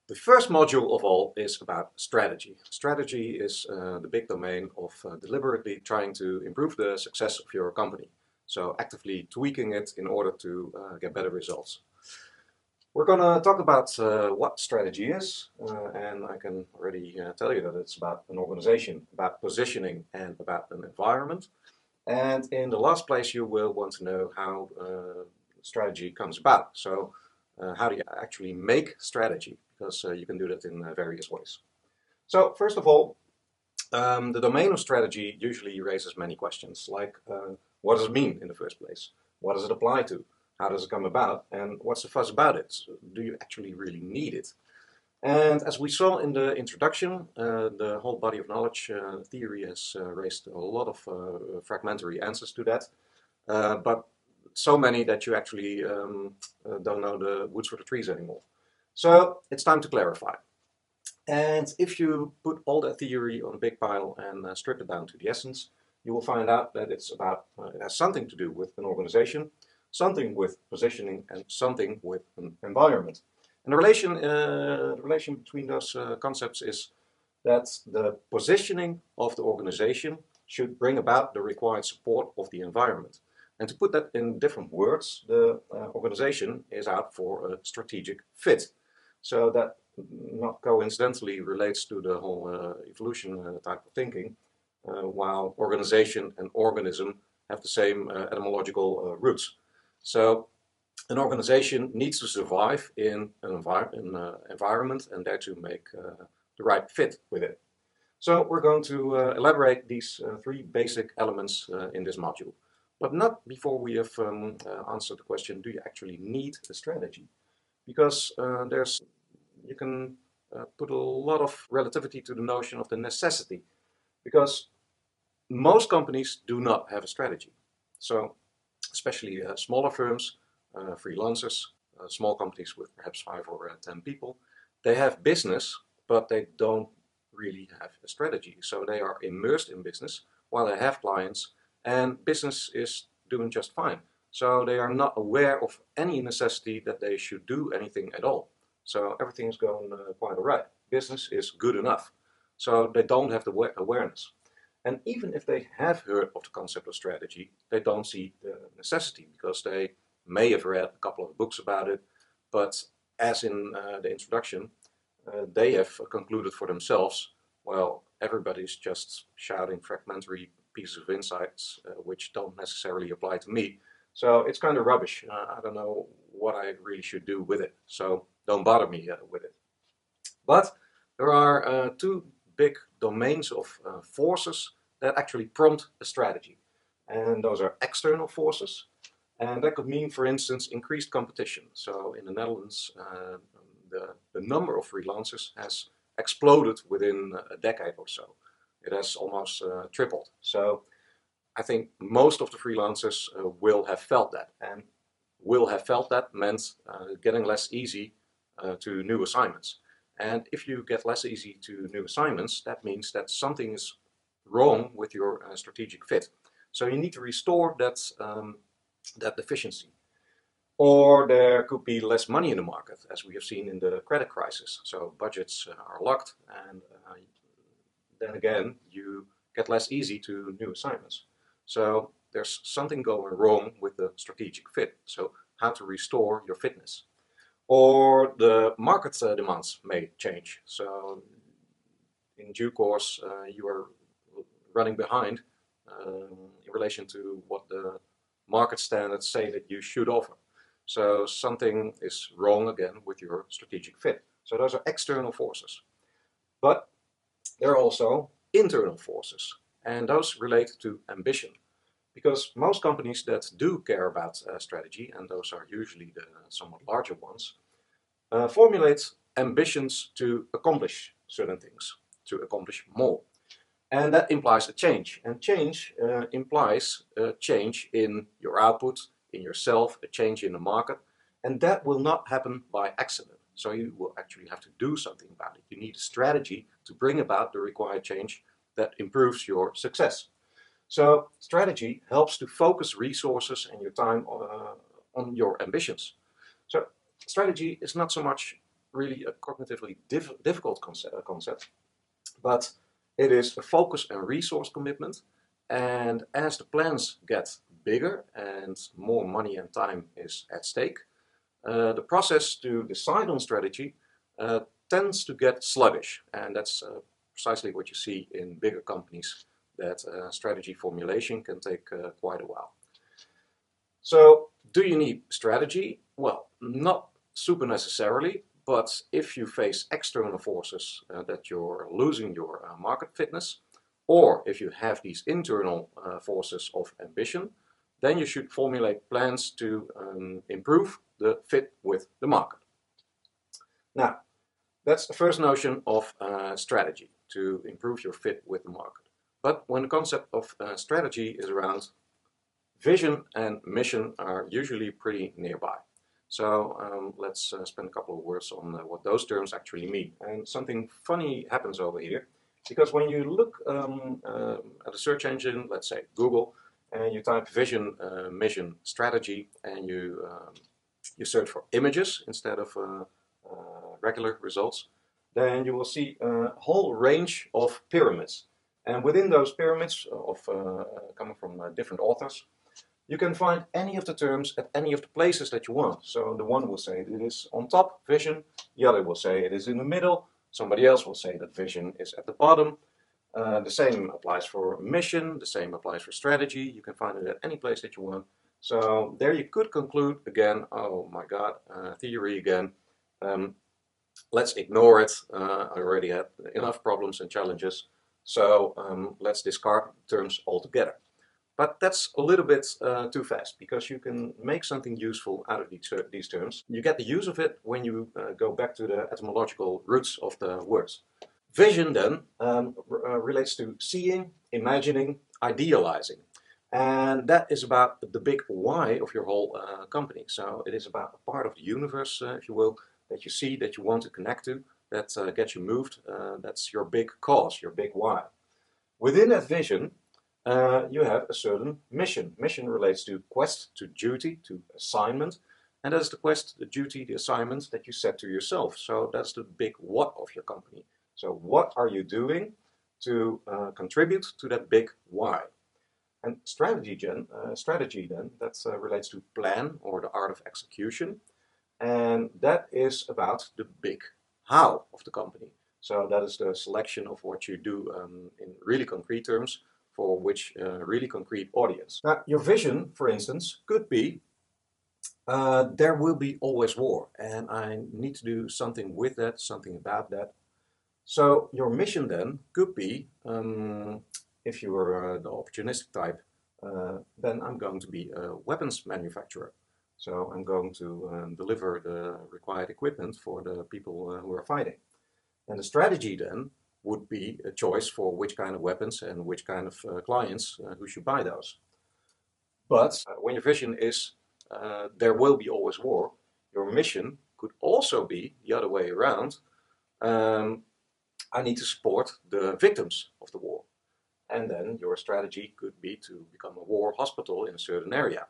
The first module of all is about strategy. Strategy is the big domain of deliberately trying to improve the success of your company. So actively tweaking it in order to get better results. We're going to talk about what strategy is, and I can already tell you that it's about an organization, about positioning, and about an environment. And in the last place, you will want to know how strategy comes about. So how do you actually make strategy? Because you can do that in various ways. So first of all, the domain of strategy usually raises many questions, like what does it mean in the first place? What does it apply to? How does it come about? And what's the fuss about it? Do you actually really need it? And as we saw in the introduction, the whole body of knowledge theory has raised a lot of fragmentary answers to that, but so many that you actually don't know the woods for the trees anymore. So it's time to clarify. And if you put all that theory on a big pile and strip it down to the essence, you will find out that it has something to do with an organization, something with positioning, and something with an environment. And the relation between those concepts is that the positioning of the organization should bring about the required support of the environment. And to put that in different words, the organization is out for a strategic fit. So that not coincidentally relates to the whole evolution type of thinking, while organization and organism have the same etymological roots. So an organization needs to survive in an environment and there to make the right fit with it. So we're going to elaborate these three basic elements in this module. But not before we have answered the question, do you actually need a strategy? Because you can put a lot of relativity to the notion of the necessity. Because most companies do not have a strategy. So especially smaller firms, freelancers, small companies with perhaps 5 or 10 people, they have business, but they don't really have a strategy. So they are immersed in business while they have clients, and business is doing just fine. So they are not aware of any necessity that they should do anything at all. So everything is going quite all right. Business is good enough. So they don't have the awareness. And even if they have heard of the concept of strategy, they don't see the necessity because they may have read a couple of books about it, but as in the introduction, they have concluded for themselves, well, everybody's just shouting fragmentary pieces of insights which don't necessarily apply to me. So it's kind of rubbish. I don't know what I really should do with it. So don't bother me with it. But there are two big domains of forces that actually prompt a strategy. And those are external forces. And that could mean, for instance, increased competition. So in the Netherlands, the number of freelancers has exploded within a decade or so. It has almost tripled. So I think most of the freelancers will have felt that. And will have felt that meant getting less easy to new assignments. And if you get less easy to new assignments, that means that something is wrong with your strategic fit. So you need to restore that efficiency. Or there could be less money in the market, as we have seen in the credit crisis. So budgets are locked, and then again, you get less easy to new assignments. So there's something going wrong with the strategic fit. So how to restore your fitness. Or the market demands may change. So in due course, you are running behind in relation to what the market standards say that you should offer. So something is wrong again with your strategic fit. So those are external forces. But there are also internal forces, and those relate to ambition. Because most companies that do care about strategy, and those are usually the somewhat larger ones, formulate ambitions to accomplish certain things, to accomplish more. And that implies a change. And change implies a change in your output, in yourself, a change in the market. And that will not happen by accident. So you will actually have to do something about it. You need a strategy to bring about the required change that improves your success. So strategy helps to focus resources and your time on your ambitions. So strategy is not so much really a cognitively difficult concept, but it is a focus and resource commitment. And as the plans get bigger and more money and time is at stake, the process to decide on strategy tends to get sluggish. And that's precisely what you see in bigger companies, that strategy formulation can take quite a while. So, do you need strategy? Well, not super necessarily, but if you face external forces that you're losing your market fitness, or if you have these internal forces of ambition, then you should formulate plans to improve the fit with the market. Now, that's the first notion of strategy, to improve your fit with the market. But when the concept of strategy is around, vision and mission are usually pretty nearby. So let's spend a couple of words on what those terms actually mean. And something funny happens over here, because when you look at a search engine, let's say Google, and you type vision, mission, strategy, and you search for images instead of regular results, then you will see a whole range of pyramids. And within those pyramids, coming from different authors, you can find any of the terms at any of the places that you want. So the one will say it is on top, vision. The other will say it is in the middle. Somebody else will say that vision is at the bottom. The same applies for mission. The same applies for strategy. You can find it at any place that you want. So there you could conclude again, oh my God, theory again. Let's ignore it. I already had enough problems and challenges. So let's discard terms altogether. But that's a little bit too fast, because you can make something useful out of these terms. You get the use of it when you go back to the etymological roots of the words. Vision then relates to seeing, imagining, idealizing. And that is about the big why of your whole company. So it is about a part of the universe, if you will, that you see, that you want to connect to, that gets you moved. That's your big cause, your big why. Within that vision, you have a certain mission. Mission relates to quest, to duty, to assignment. And that's the quest, the duty, the assignment that you set to yourself. So that's the big what of your company. So what are you doing to contribute to that big why? And strategy then, that relates to plan, or the art of execution. And that is about the big how of the company. So that is the selection of what you do in really concrete terms, for which really concrete audience. Now, your vision, for instance, could be there will be always war, and I need to do something with that, something about that. So your mission then could be, if you were the opportunistic type, then I'm going to be a weapons manufacturer. So I'm going to deliver the required equipment for the people who are fighting. And the strategy then would be a choice for which kind of weapons and which kind of clients who should buy those. But when your vision is there will be always war, your mission could also be the other way around. I need to support the victims of the war. And then your strategy could be to become a war hospital in a certain area.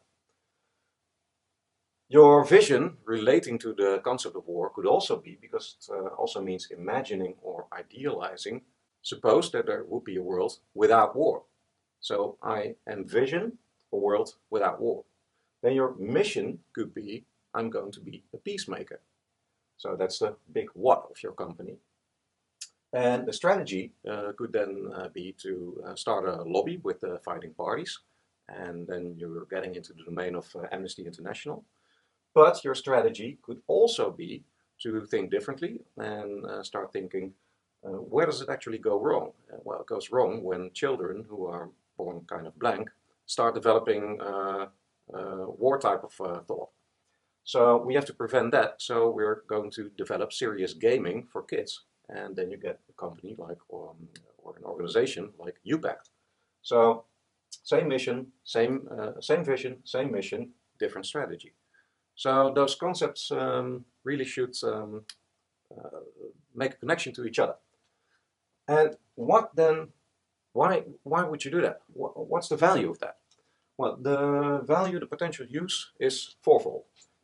Your vision relating to the concept of war could also be, because it also means imagining or idealizing, suppose that there would be a world without war. So I envision a world without war. Then your mission could be, I'm going to be a peacemaker. So that's the big what of your company. And the strategy could then be to start a lobby with the fighting parties. And then you're getting into the domain of Amnesty International. But your strategy could also be to think differently and start thinking, where does it actually go wrong? Well, it goes wrong when children who are born kind of blank start developing war type of thought. So we have to prevent that. So we're going to develop serious gaming for kids. And then you get a company like, or an organization like UPact. So same mission, same vision, same mission, different strategy. So those concepts really should make a connection to each other. And what then, why would you do that? What's the value of that? Well, the value, the potential use is fourfold.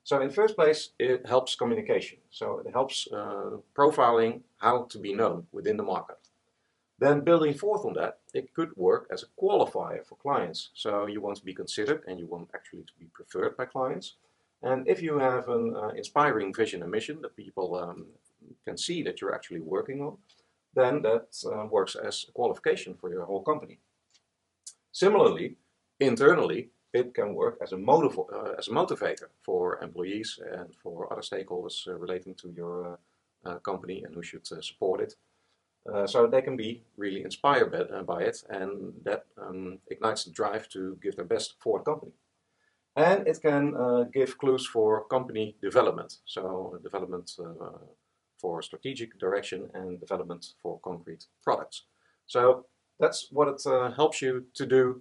So in the first place, it helps communication. So it helps profiling how to be known within the market. Then building forth on that, it could work as a qualifier for clients. So you want to be considered and you want actually to be preferred by clients. And if you have an inspiring vision and mission that people can see that you're actually working on, then that works as a qualification for your whole company. Similarly, internally, it can work as a motivator for employees and for other stakeholders relating to your company and who should support it. So they can be really inspired by it, and that ignites the drive to give their best for the company. And it can give clues for company development, so development for strategic direction and development for concrete products. So that's what it helps you to do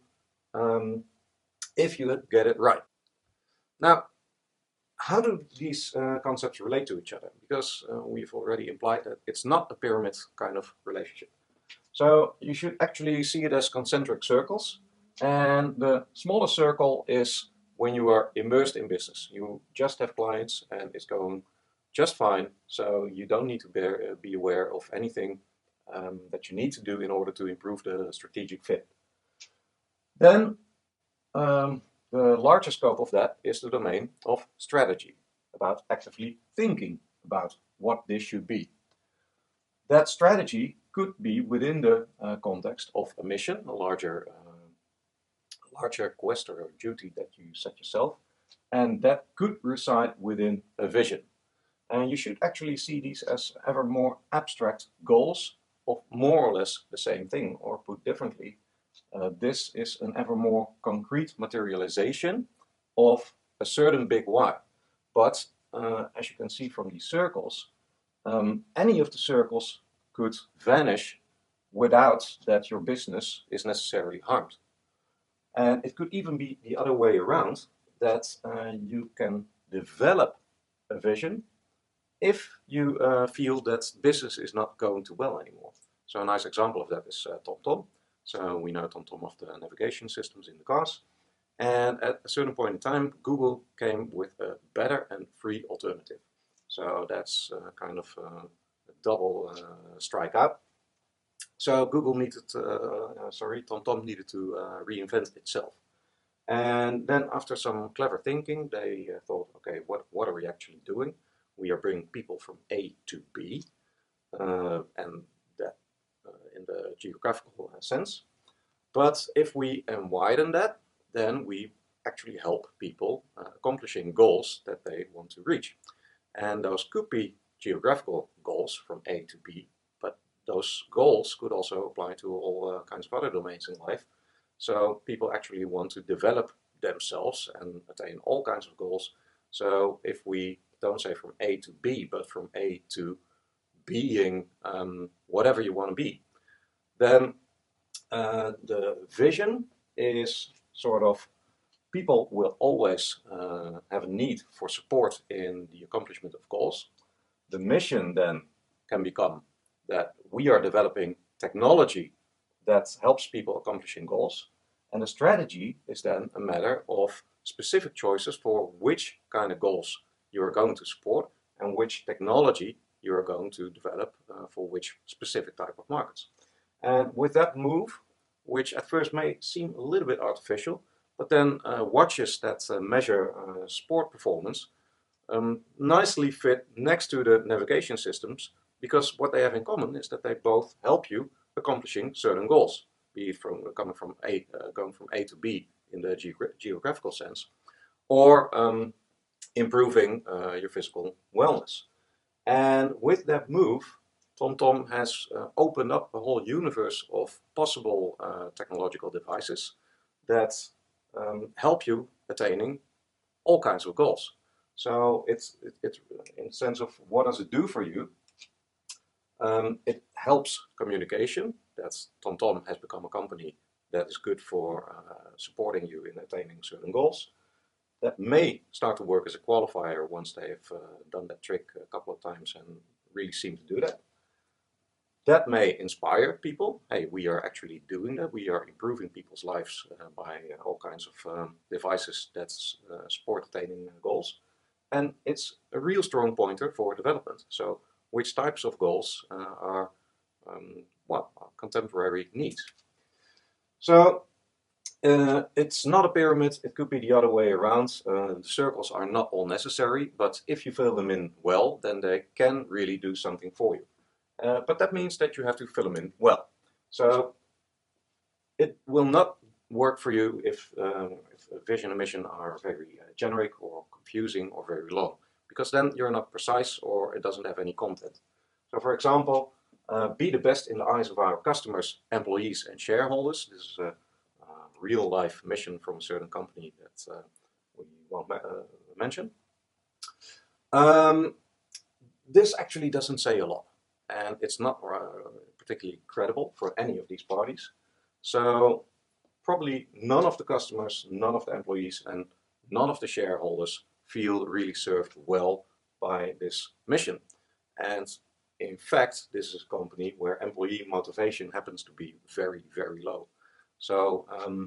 if you get it right. Now, how do these concepts relate to each other? Because we've already implied that it's not a pyramid kind of relationship. So you should actually see it as concentric circles. And the smaller circle is when you are immersed in business. You just have clients and it's going just fine. So you don't need to be aware of anything that you need to do in order to improve the strategic fit. Then the larger scope of that is the domain of strategy, about actively thinking about what this should be. That strategy could be within the context of a mission, a larger quest or duty that you set yourself, and that could reside within a vision. And you should actually see these as ever more abstract goals of more or less the same thing, or put differently, this is an ever more concrete materialization of a certain big why. But as you can see from these circles, any of the circles could vanish without that your business is necessarily harmed. And it could even be the other way around, that you can develop a vision if you feel that business is not going too well anymore. So a nice example of that is TomTom. So we know TomTom of the navigation systems in the cars. And at a certain point in time, Google came with a better and free alternative. So that's kind of a double strikeout. So TomTom needed to reinvent itself. And then after some clever thinking, they thought, okay, what are we actually doing? We are bringing people from A to B, and that in the geographical sense. But if we widen that, then we actually help people accomplishing goals that they want to reach. And those could be geographical goals from A to B, but those goals could also apply to all kinds of other domains in life. So people actually want to develop themselves and attain all kinds of goals. So if we don't say from A to B, but from A to being whatever you want to be, then the vision is sort of, people will always have a need for support in the accomplishment of goals. The mission then can become that we are developing technology that helps people accomplishing goals. And the strategy is then a matter of specific choices for which kind of goals you are going to support and which technology you are going to develop for which specific type of markets. And with that move, which at first may seem a little bit artificial, but then watches that measure sport performance nicely fit next to the navigation systems, because what they have in common is that they both help you accomplishing certain goals, be it going from A to B in the geographical sense, or improving your physical wellness. And with that move, TomTom has opened up a whole universe of possible technological devices that help you attaining all kinds of goals. So it's in the sense of what does it do for you? It helps communication. That's TomTom has become a company that is good for supporting you in attaining certain goals. That may start to work as a qualifier once they've done that trick a couple of times and really seem to do that. That may inspire people. Hey, we are actually doing that. We are improving people's lives by all kinds of devices that support attaining goals. And it's a real strong pointer for development. So which types of goals are well, contemporary needs. So it's not a pyramid, it could be the other way around. The circles are not all necessary, but if you fill them in well, then they can really do something for you. But that means that you have to fill them in well. So it will not work for you if vision and mission are very generic or confusing or very long, because then you're not precise or it doesn't have any content. So for example, be the best in the eyes of our customers, employees and shareholders. This is a real life mission from a certain company that we won't mention. This actually doesn't say a lot, and it's not particularly credible for any of these parties. So probably none of the customers, none of the employees, and none of the shareholders feel really served well by this mission. And in fact, this is a company where employee motivation happens to be very, very low. So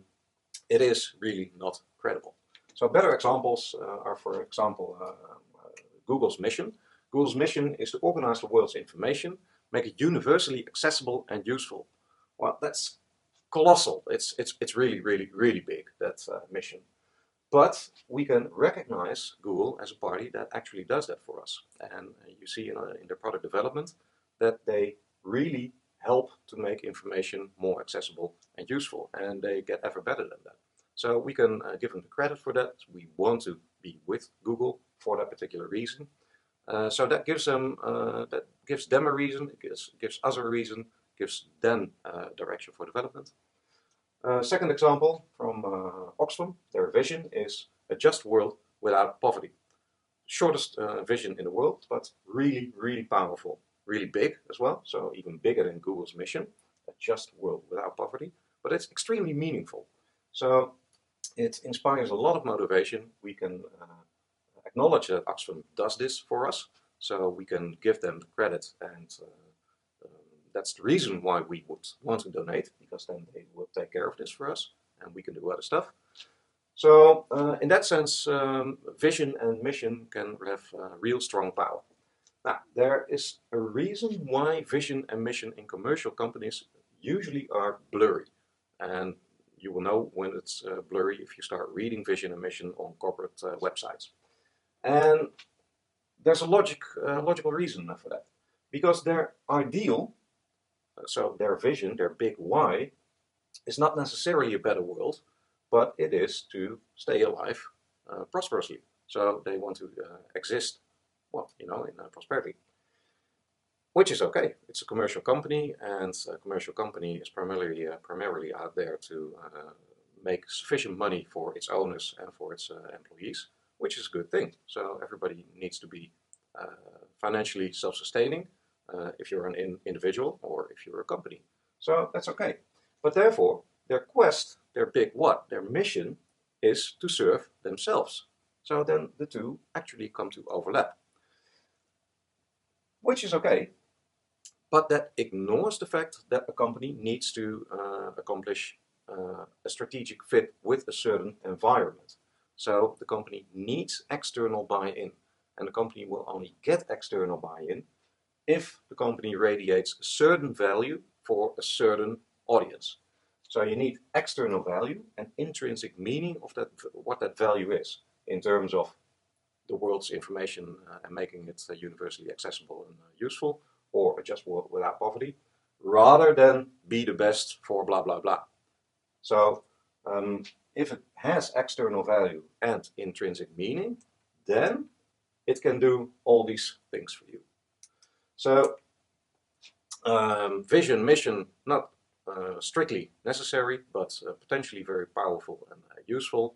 it is really not credible. So better examples are, for example, Google's mission. Google's mission is to organize the world's information, make it universally accessible and useful. Well, that's colossal. It's really, really, really big, that mission. But we can recognize Google as a party that actually does that for us. And you see in their product development that they really help to make information more accessible and useful. And they get ever better than that. So we can give them the credit for that. We want to be with Google for that particular reason. So that gives them a reason, it gives us a reason, gives them direction for development. Second example from Oxfam, their vision is a just world without poverty. Shortest vision in the world, but really, really powerful, really big as well, so even bigger than Google's mission, a just world without poverty, but it's extremely meaningful. So it inspires a lot of motivation. We can acknowledge that Oxfam does this for us, so we can give them the credit, and that's the reason why we would want to donate, because then they will take care of this for us and we can do other stuff. So in that sense, vision and mission can have real strong power. Now, there is a reason why vision and mission in commercial companies usually are blurry. And you will know when it's blurry if you start reading vision and mission on corporate websites. And there's a logical reason for that. Because their ideal, so their vision, their big why, is not necessarily a better world, but it is to stay alive prosperously. So they want to exist, well, in prosperity. Which is okay. It's a commercial company, and a commercial company is primarily out there to make sufficient money for its owners and for its employees, which is a good thing. So everybody needs to be financially self-sustaining if you're an individual or if you're a company. So that's okay. But therefore, their quest, their big what, their mission is to serve themselves. So then the two actually come to overlap. Which is okay, but that ignores the fact that a company needs to accomplish a strategic fit with a certain environment. So the company needs external buy-in, and the company will only get external buy-in if the company radiates a certain value for a certain audience. So you need external value and intrinsic meaning of that, what that value is in terms of the world's information and making it universally accessible and useful, or a just world without poverty, rather than be the best for blah blah blah. So if it has external value and intrinsic meaning, then it can do all these things for you. So vision, mission, not strictly necessary, but potentially very powerful and useful.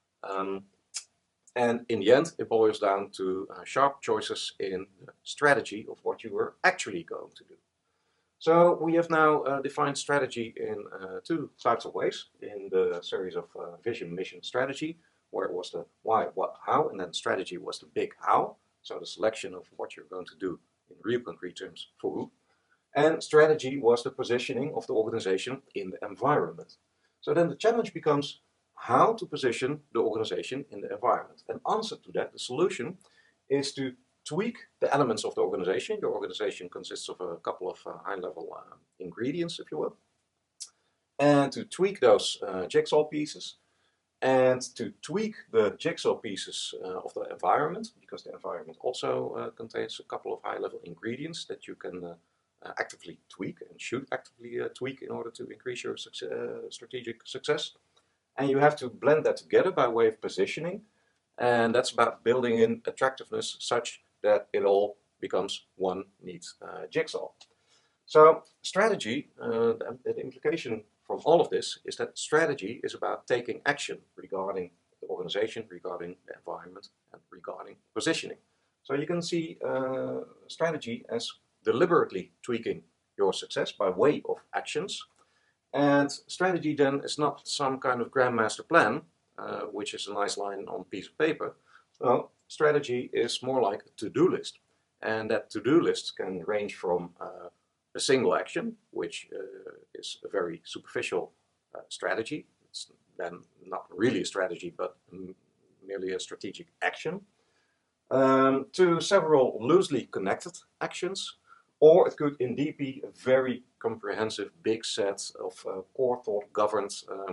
And in the end, it boils down to sharp choices in the strategy of what you are actually going to do. So we have now defined strategy in two types of ways. In the series of vision, mission, strategy, where it was the why, what, how, and then strategy was the big how. So the selection of what you're going to do in real concrete terms for who. And strategy was the positioning of the organization in the environment. So then the challenge becomes how to position the organization in the environment. And answer to that, the solution, is to tweak the elements of the organization. Your organization consists of a couple of high-level ingredients, if you will, and to tweak those jigsaw pieces, and to tweak the jigsaw pieces of the environment, because the environment also contains a couple of high-level ingredients that you can actively tweak and should actively tweak in order to increase your strategic success. And you have to blend that together by way of positioning, and that's about building in attractiveness such that it all becomes one neat jigsaw. So strategy, the implication from all of this is that strategy is about taking action regarding the organization, regarding the environment, and regarding positioning. So you can see strategy as deliberately tweaking your success by way of actions. And strategy then is not some kind of grandmaster plan, which is a nice line on a piece of paper. Well, strategy is more like a to-do list. And that to-do list can range from a single action, which is a very superficial strategy. It's then not really a strategy, but merely a strategic action, to several loosely connected actions, or it could indeed be a very comprehensive big set of core thought governed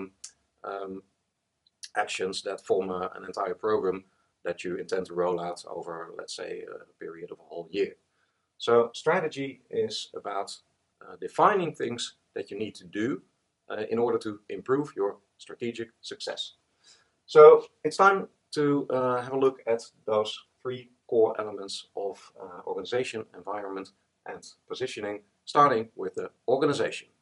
actions that form an entire program that you intend to roll out over, let's say, a period of a whole year. So strategy is about defining things that you need to do in order to improve your strategic success. So it's time to have a look at those three core elements of organization, environment, and positioning, starting with the organization.